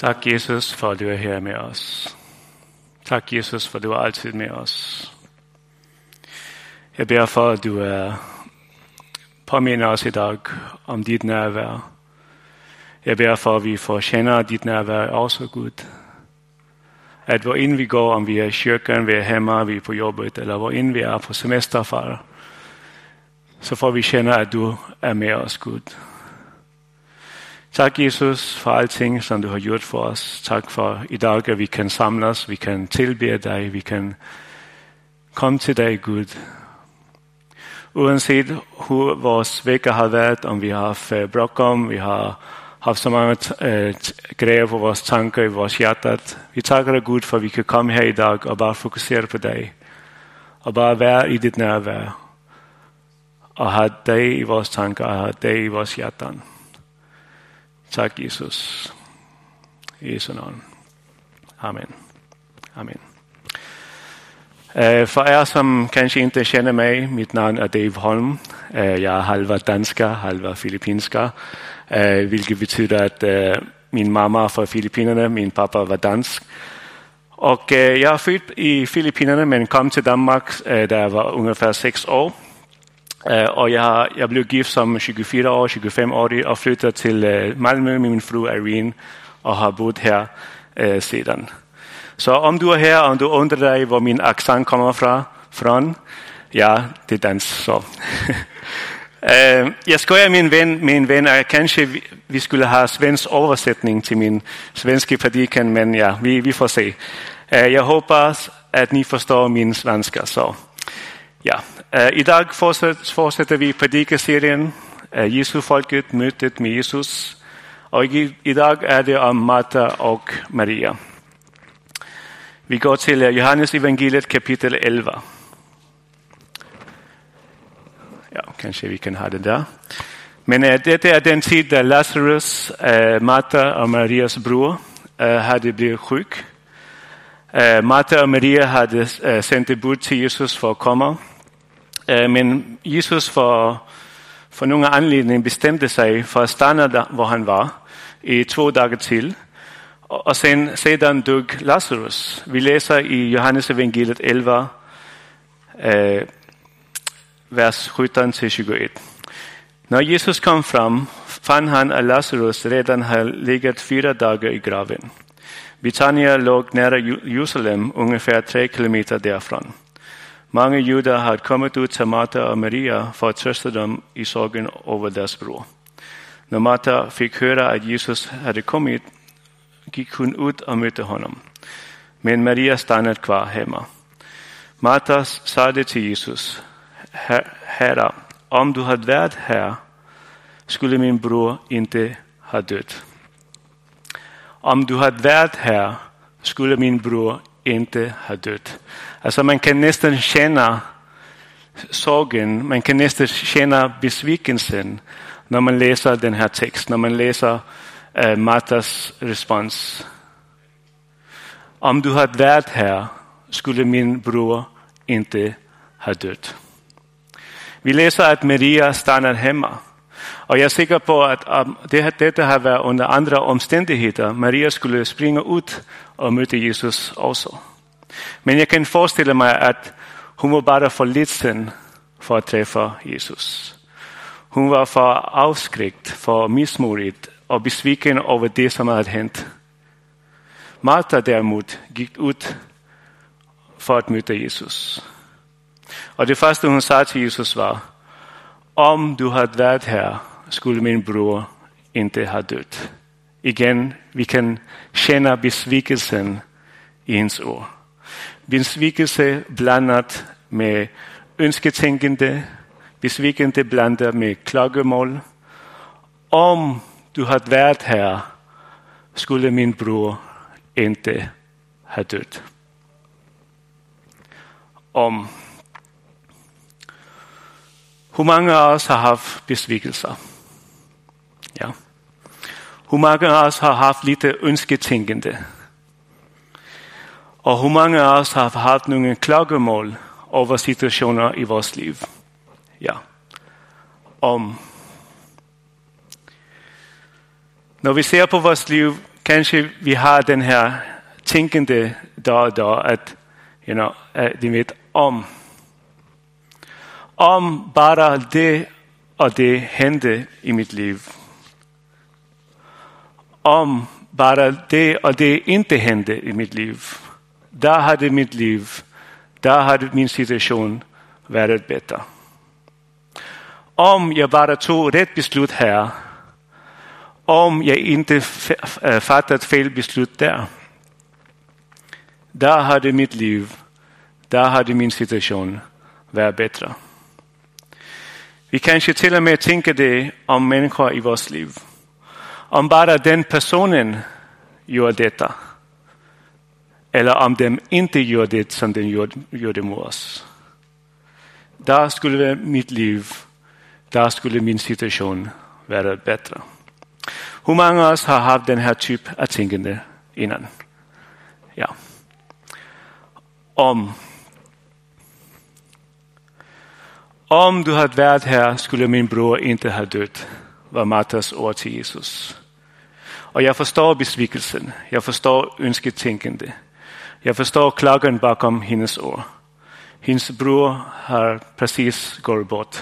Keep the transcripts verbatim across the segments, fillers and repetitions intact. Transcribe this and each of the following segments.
Tak Jesus for at du er her med os. Tak Jesus for at du er altid med os. Jeg beder for at du er påminder os i dag om dit nærvær. Jeg beder for at vi får kende dit nærvær også Gud. At hvor ind vi går, om vi er i kyrken, vi er hjemme, vi er på jobbet, eller hvor ind vi er på semesterfart, så får vi kende at du er med os Gud. Tak Jesus for alting, som du har gjort for os. Tak for i dag, at vi kan samles, vi kan tilbede dig, vi kan komme til dig Gud. Uanset hvor vores vækker har været, om vi har haft brok om, vi har haft så mange øh, grejer på vores tanker, i vores hjerte. Vi takker dig Gud for, at vi kan komme her i dag og bare fokusere på dig. Og bare være i dit nærvær. Og have dig i vores tanker, og have dig i vores hjerte. Tak Jesus. I Jesu navn. Amen. Amen. Uh, for jer, som kanskje ikke kender mig, mit navn er Dave Holm. Uh, jeg er halva dansker, halva filippinsker, uh, hvilket betyder, at uh, min mamma er fra Filippinerne, min pappa var dansk. Og uh, jeg er født i Filippinerne, men kom til Danmark, uh, da jeg var ungefær seks år. Uh, og jeg, jeg blev gift som tjugofyra år, tjugofem år og flyttede til uh, Malmø med min fru Irene og har boet her uh, siden. Så om du er her, og du undrer dig, hvor min accent kommer fra, fra ja, det er dansk. Så. uh, jeg skojer min ven, min ven, og kanskje vi, vi skulle have svensk oversætning til min svenske prædiken, men ja, vi, vi får se. Uh, jeg håber, at I forstår min svenska, så ja. Uh, I dag fortsætter, fortsætter vi prædikeserien, uh, Jesu folket, mødet med Jesus, og i, i dag er det om Martha og Maria. Vi går til uh, Johannes evangeliet kapitel elleve. Ja, kanskje vi kan have det der. Men uh, dette er den tid, da Lazarus, uh, Martha og Marias bror, uh, havde blevet syg. Uh, Martha og Maria havde uh, sendt et bud til Jesus for at komme. Uh, men Jesus for, for nogle anledninger bestemte sig for at stande der, hvor han var, i to dage til. Og sen, sedan dog Lazarus. Vi læser i Johannes evangeliet elleve, øh, vers sytten til tyve-et. Når Jesus kom frem, fandt han, at Lazarus redan havde ligget fire dage i graven. Betania lå nære Jerusalem, ungefær tre kilometer derfra. Mange jøder havde kommet ud til Martha og Maria for at trøste dem i sorgen over deres bror. Når Martha fik høre, at Jesus havde kommet, gik hun ud og mødte honom. Men Maria stannede kvar hjemme. Martha sagde til Jesus, Herre, om du havde været her, skulle min bror ikke have dødt. Om du havde været her, skulle min bror ikke have dødt. Altså man kan næsten kende sorgen, man kan næsten kende besvikelsen, når man læser den her tekst, når man læser uh, Marthas respons. Om du havde været her, skulle min bror ikke have dødt. Vi læser, at Maria stannede hjemme. Og jeg er sikker på, at um, det, dette har været under andre omstændigheder. Maria skulle springe ud og møde Jesus også. Men jeg kan forestille mig, at hun var bare for lidt sind for at træffe Jesus. Hun var for afskrækt, for mismodigt og besviken over det, som havde hent. Martha derimod gik ud for at møde Jesus. Og det første, hun sagde til Jesus var, om du havde været her, skulle min bror ikke have dødt. Igen, vi kan kende besvikelsen i hendes ord. Besvikelse blandet med ønsketænkende, besvikelse blandet med klagemål. Om du havde været her, skulle min bror ikke have dødt. Om. Hvor mange af os har haft besvikelser? Ja. Hvor mange af os har haft lidt ønsketænkende? Og hvor mange af os har haft nogle klagemål over situationer i vores liv? Ja. Om. Når vi ser på vores liv, Kanske vi har den här tänkande dag och dag att, you know, de vet om. Om bara det och det hände i mitt liv. Om bara det och det inte hände i mitt liv. Där hade mitt liv, där hade min situation varit bättre. Om jag bara tog rätt beslut här. Om jag inte fattat fel beslut där. Där hade mitt liv, där hade min situation varit bättre. Vi kanske till och med tänker det om människor i vårt liv. Om bara den personen gör detta. Eller om de inte gör det som den gjorde, gjorde mot oss. Där skulle mitt liv, där skulle min situation vara bättre. Hur många av oss har haft den här typ av tänkande innan? Ja. Om. Om du hade varit här skulle min bror inte ha dött, var Martas ord till Jesus. Och jag förstår besvikelsen. Jag förstår önsketänkande. Jag förstår klagan bakom hennes ord. Hennes bror har precis gått bort.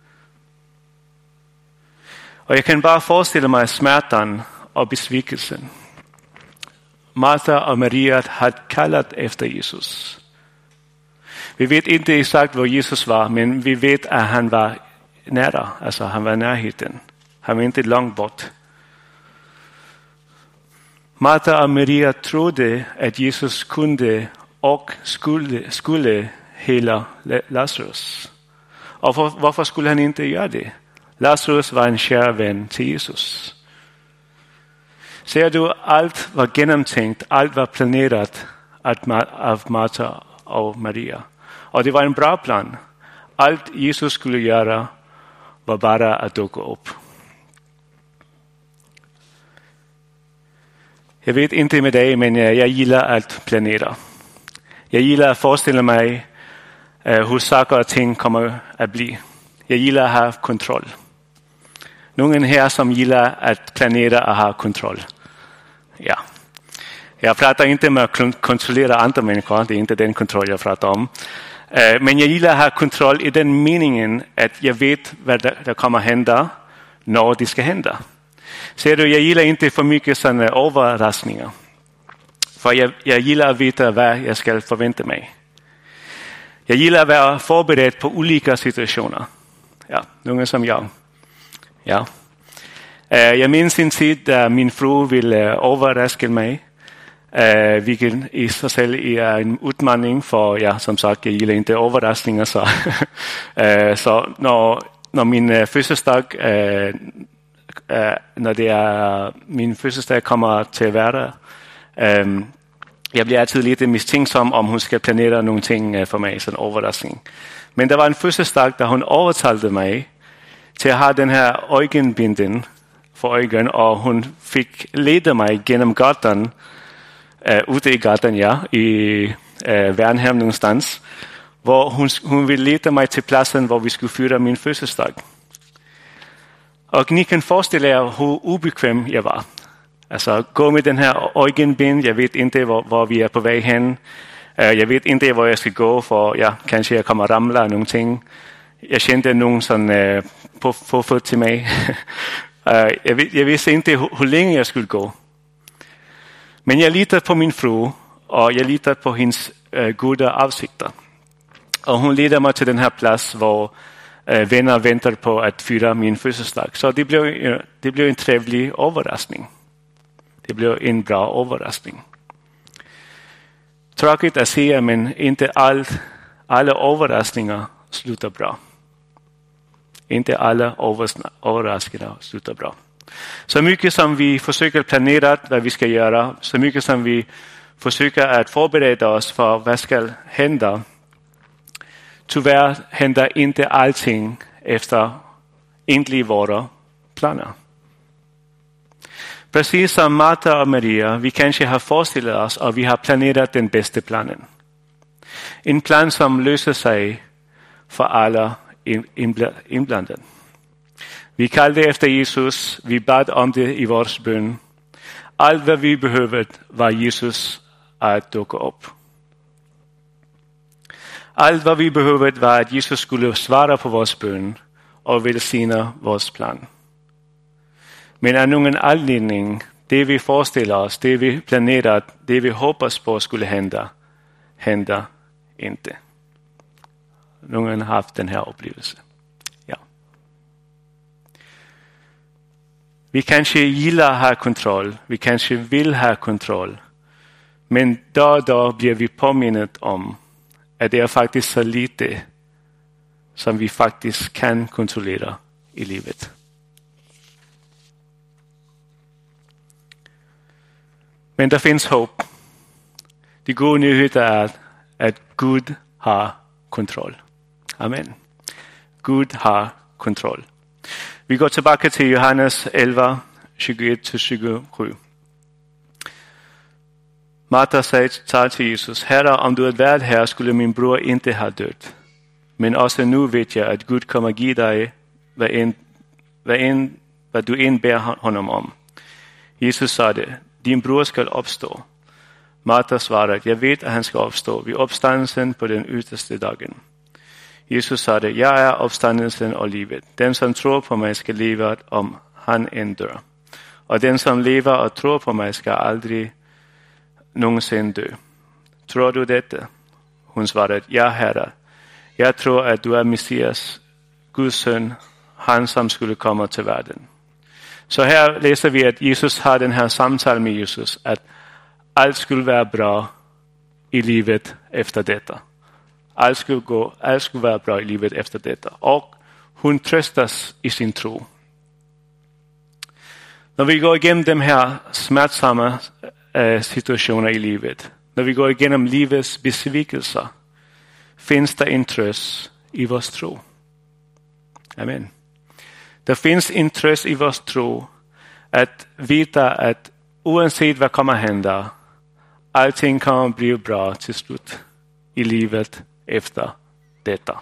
Och jag kan bara föreställa mig smärtan och besvikelsen. Marta och Maria hade kallat efter Jesus. Vi vet inte exakt var Jesus var, men vi vet att han var nära. Alltså han var närheten. Han var inte långt bort. Marta och Maria trodde att Jesus kunde och skulle, skulle hela Lazarus. Och för, varför skulle han inte göra det? Lazarus var en kär vän till Jesus. Ser du, allt var genomtänkt, allt var planerat av Marta och Maria. Och det var en bra plan. Allt Jesus skulle göra var bara att duka upp. Jag vet inte med dig, men jag gillar att planera. Jag gillar att föreställa mig hur saker och ting kommer att bli. Jag gillar att ha kontroll. Någon här som gillar att planera och ha kontroll. Ja. Jag pratar inte om att kontrollera andra människor. Det är inte den kontroll jag pratar om. Men jag gillar att ha kontroll i den meningen att jag vet vad det kommer att hända när det ska hända. Ser du, jag gillar inte för mycket sådana överraskningar. För jag, jag gillar att veta vad jag ska förvänta mig. Jag gillar att vara förberedd på olika situationer. Ja, någon som jag. Ja. Jag minns en tid där min fru ville överraska mig. Vilket i sig själv är en utmaning. För ja, som sagt, jag gillar inte överraskningar. Så, så när, när min födelsedag... Uh, när det är min födelsedag kommer till att vara. Um, jag blir alltid lite misstänksam om hon ska planera någonting för mig, en överraskning. Men det var en födelsedag där hon övertalade mig till att ha den här ögonbinden för ögonen, och hon fick leda mig genom gatan, uh, ute i gatan, ja, i uh, Värnhem någonstans, hvor hon, hon ville leda mig till platsen där vi skulle fira min födelsedag. Och ni kan föreställa er hur obekväm jag var. Alltså gå med den här ögonbind. Jag vet inte var, var vi är på väg hen. Jag vet inte var jag ska gå, för ja, kanske jag kommer ramla någonting. Jag kände någon sån uh, på, på fot till mig. uh, jag, jag visste inte hur, hur länge jag skulle gå. Men jag litade på min fru och jag litade på hennes uh, goda avsikter. Och hon ledde mig till den här plats var Uh, vänner väntar på att fira min födelsedag. Så det blev, uh, det blev en trevlig överraskning. Det blev en bra överraskning. Tråkigt att säga, men inte all, alla överraskningar slutar bra. Inte alla överraskningar slutar bra. Så mycket som vi försöker planera vad vi ska göra, så mycket som vi försöker att förbereda oss för vad ska hända, tyvärr händer inte allting efter egentligen våra planer. Precis som Marta och Maria, vi kanske har föreställt oss och vi har planerat den bästa planen. En plan som löser sig för alla inblandade. Vi kallade efter Jesus, vi bad om det i vår bön. Allt vad vi behövde var Jesus att duka upp. Allt vad vi behövde var att Jesus skulle svara på vår bön och välsigna vår plan. Men av någon anledning, det vi föreställer oss, det vi planerat, det vi hoppas på skulle hända, hända inte. Någon har haft den här upplevelsen. Ja. Vi kanske gillar att ha kontroll, vi kanske vill ha kontroll. Men då och då blir vi påminnet om att det är faktiskt så lite som vi faktiskt kan kontrollera i livet. Men det finns hopp. Det gode nyheter är att Gud har kontroll. Amen. Gud har kontroll. Vi går tillbaka till Johannes elva, tjugoett till tjugosju. Marta sa till Jesus, Herre, om du hade varit här skulle min bror inte ha dött. Men också nu vet jag att Gud kommer ge dig vad, en, vad, en, vad du än ber honom om. Jesus sa det, din bror ska uppstå. Marta svarade, jag vet att han ska uppstå vid uppståndelsen på den yttersta dagen. Jesus sa det, jag är uppståndelsen och livet. Den som tror på mig ska leva om han än dör. Och den som lever och tror på mig ska aldrig någonsin dö. Tror du detta? Hon svarade, ja herre. Jag tror att du är Messias, Guds son, han som skulle komma till världen. Så här läser vi att Jesus har den här samtal med Jesus, att allt skulle vara bra i livet efter detta. Allt skulle, gå, allt skulle vara bra i livet efter detta. Och hon tröstas i sin tro. När vi går igenom de här smärtsamma äh, situationer i livet, när vi går igenom livets besvikelser, finns det en tröst i vår tro. Amen. Det finns en tröst i vår tro att veta att oavsett vad kommer hända, allting kommer bli bra till slut i livet efter detta.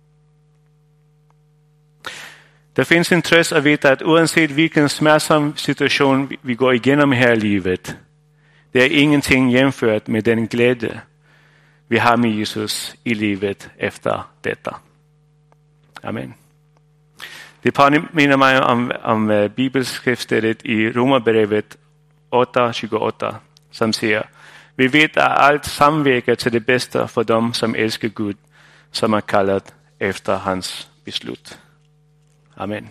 Det finns en tröst att veta att oavsett vilken smärtsam situation vi går igenom här i livet, det är ingenting jämfört med den glädje vi har med Jesus i livet efter detta. Amen. Det påminner mig om, om bibelskriftstället i Romarbrevet åtta tjugoåtta som säger, vi vet att allt samverkar till det bästa för dem som älskar Gud, som är kallat efter hans beslut. Amen.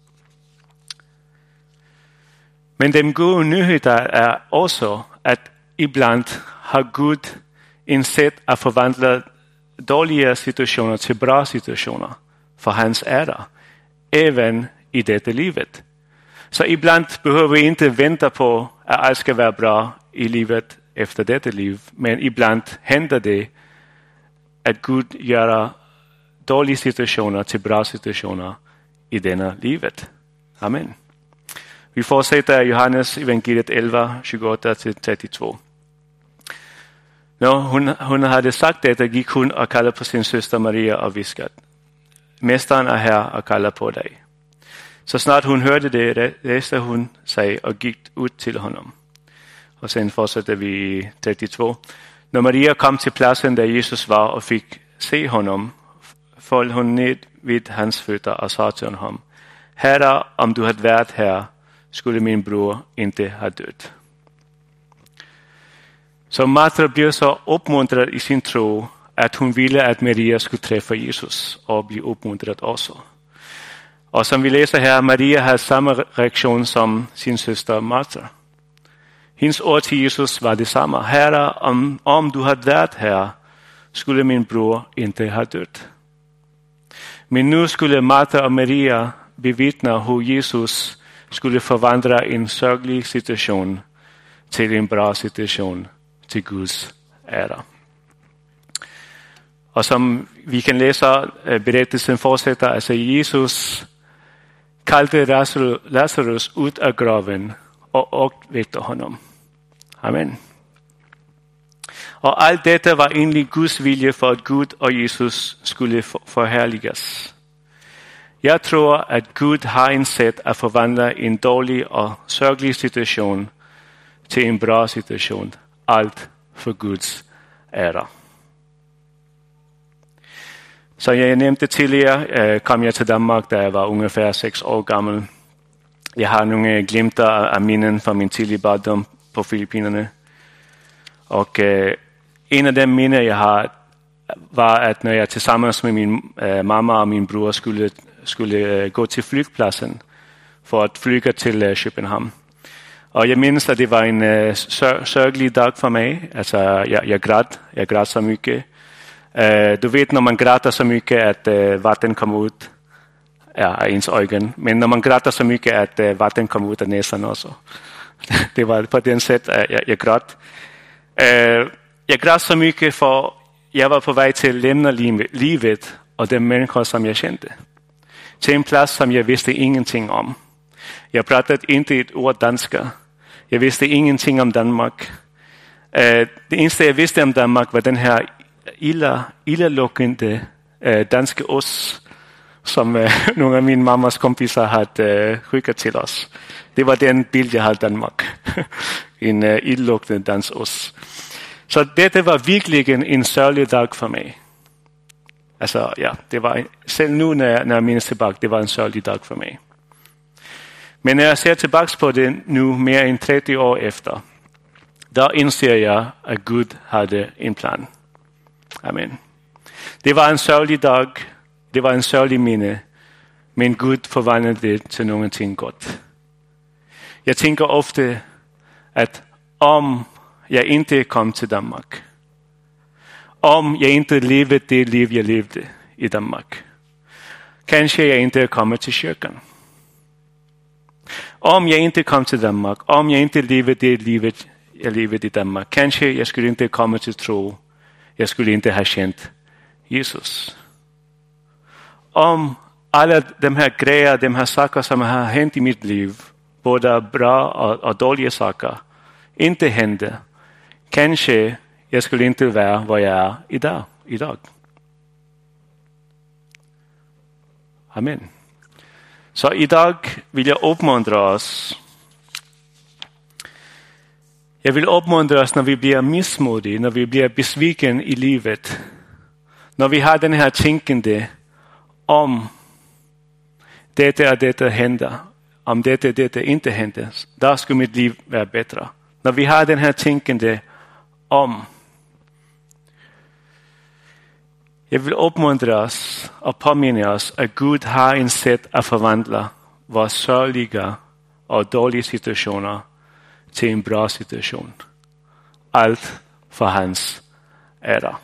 Men den goda nyheten är också att ibland har Gud en sätt att förvandla dåliga situationer till bra situationer för hans ära, även i detta livet. Så ibland behöver vi inte vänta på att allt ska vara bra i livet efter detta liv, men ibland händer det att Gud gör dåliga situationer till bra situationer i denna livet. Amen. Vi fortsätter Johannes evangeliet elva tjugoåtta till trettiotvå. När hon, hon hade sagt detta gick hon och kallade på sin syster Maria och viskade, Mästaren är här och kallar på dig. Så snart hon hörde det reste hon sig och gick ut till honom. Och sen fortsätter vi i trettiotvå. När Maria kom till platsen där Jesus var och fick se honom, föll hon ned vid hans fötter och sa till honom, Herre, om du hade varit här skulle min bror inte ha dött. Så Marta blev så uppmuntrad i sin tro att hon ville att Maria skulle träffa Jesus och bli uppmuntrad också. Och som vi läser här, Maria har samma reaktion som sin syster Marta. Hennes ord till Jesus var detsamma. Herre, om, om du hade varit här skulle min bror inte ha dött. Men nu skulle Marta och Maria bevittna hur Jesus skulle förvandla en sörglig situation till en bra situation till Guds ära. Och som vi kan läsa, berättelsen fortsätter, alltså Jesus kallade Lazarus ut av graven och väckte honom. Amen. Och allt detta var enligt Guds vilja för att Gud och Jesus skulle förhärligas. Jag tror att Gud har en sätt att förvandla en dålig och sörglig situation till en bra situation. Allt för Guds ära. Så jag nämnde tidigare kom jag till Danmark där jag var ungefär sex år gammal. Jag har några glimtar av minnen från min tidiga barndom på Filippinerna. Och eh, en av de minnen jag har var att när jag tillsammans med min eh, mamma och min bror skulle, skulle eh, gå till flygplatsen för att flyga till eh, Köpenhamn. Och jag minns att det var en eh, sör- sörglig dag för mig. Alltså, jag, jag grät, jag grät så mycket. Eh, du vet när man gråter så mycket att eh, vatten kommer ut ja, av ens ögon. Men när man gråter så mycket att eh, vatten kommer ut av näsan också. Det var på den sätt att jag, jag grät. Eh, jag grät så mycket för jag var på väg till att lämna livet och de människor som jag kände. Till en plats som jag visste ingenting om. Jag pratade inte ett ord danska. Jag visste ingenting om Danmark. Eh, det enda jag visste om Danmark var den här illa, illaluktande eh, danska ost som eh, några av min mammas kompisar hade eh, skickat till oss. Det var den bild jag hade av Danmark. en eh, illaluktande dansk ost. Så detta var verkligen en sörlig dag för mig. Alltså, ja, det var, selv nu när jag, när jag minns tillbaka, det var en sörlig dag för mig. Men när jag ser tillbaka på det nu mer än trettio år efter, då inser jag att Gud hade en plan. Amen. Det var en sörlig dag, det var en sörlig minne, men Gud förvandlade det till någonting gott. Jag tänker ofta att om jag inte kom till Danmark, om jag inte levde det liv jag levde i Danmark, kanske jag inte kommer till kyrkan. Om jag inte kom till Danmark, om jag inte levde det livet jag levde i Danmark, kanske jag skulle inte komma till tro, jag skulle inte ha känt Jesus. Om alla de här grejer, de här saker som har hänt i mitt liv, både bra och, och dåliga saker, inte hände, kanske jag skulle inte vara vad jag är idag. idag. Amen. Så idag vill jag uppmuntra oss. Jag vill uppmuntra oss när vi blir missmodiga, när vi blir besviken i livet. När vi har den här tänkande om detta och detta händer. Om detta och detta inte händer, då skulle mitt liv vara bättre. När vi har den här tänkande om. Jag vill uppmuntra oss och påminna oss att Gud har en sätt att förvandla våra sörliga och dåliga situationer till en bra situation. Allt för hans ära.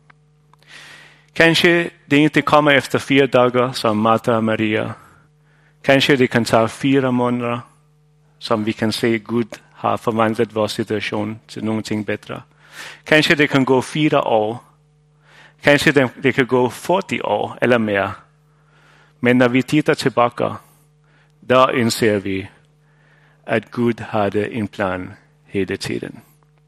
Kanske det inte kommer efter fyra dagar som Martha och Maria. Kanske det kan ta fyra månader som vi kan se Gud har förvandlat vår situation till någonting bättre. Kanske det kan gå fyra år. Kanske det, det kan gå fyrtio år eller mer. Men när vi tittar tillbaka, då inser vi att Gud hade en plan hela tiden.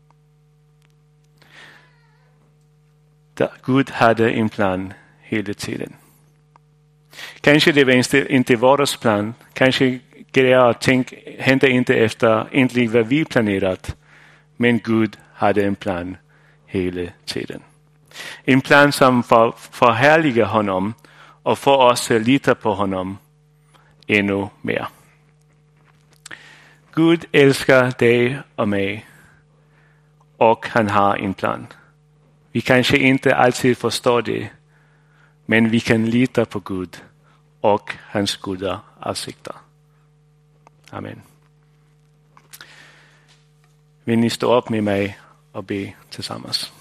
Gud hade en plan hela tiden. Kanske det var inte, inte vår plan. Kanske grejer och ting hände inte efter egentligen vad vi planerat. Men Gud hade en plan hela tiden. En plan som för, förhärligar honom och får oss att lita på honom ännu mer. Gud älskar dig och mig och han har en plan. Vi kanske inte alltid förstår det, men vi kan lita på Gud och hans goda avsikter. Amen. Vill ni stå upp med mig och be tillsammans?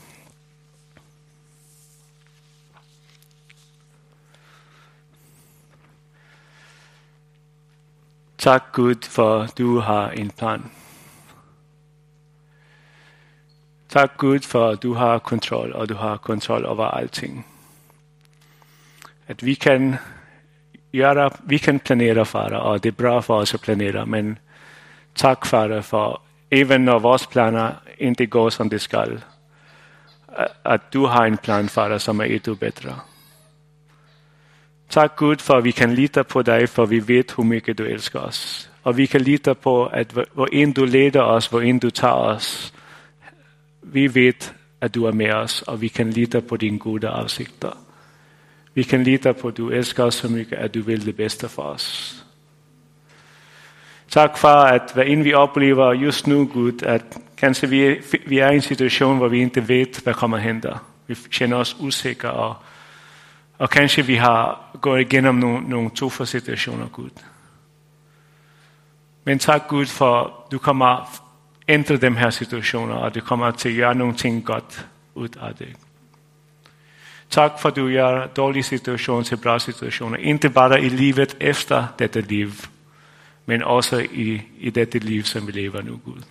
Tack Gud för att du har en plan. Tack Gud för att du har kontroll och du har kontroll över allting. Att vi kan göra, vi kan planera för det och det är bra för oss att planera, men tack för det, för även när våra planer inte går som det ska, att du har en plan för det som är ännu bättre. Tack Gud för att vi kan lita på dig, för vi vet hur mycket du älskar oss. Og vi kan lide på, at hvor end du leder os, hvor end du tager os, vi ved, at du er med os, og vi kan lide på dine gode afsigter. Vi kan lide på, at du elsker os så mycket, at du vil det bedste for os. Tak for, at hvad end vi oplever just nu, Gud, at kanskje vi, vi er i en situation, hvor vi ikke ved, hvad kommer hen der. Vi kender os usikre, og, og kanskje vi har gået igennem nogle, nogle tuffe situationer, Gud. Men tak, Gud, for du kommer ændre dem her situationer, og du kommer til at gøre nogle ting godt ud af det. Tak for, at du gør dårlige situationer til bra situationer. Ikke bare i livet efter dette liv, men også i, i dette liv, som vi lever nu, Gud.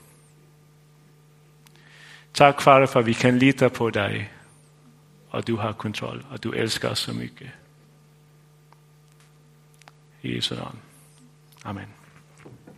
Tak, Far, for at vi kan lide på dig, og du har kontrol, og du elsker os så mycket. I Jesu navn. Amen.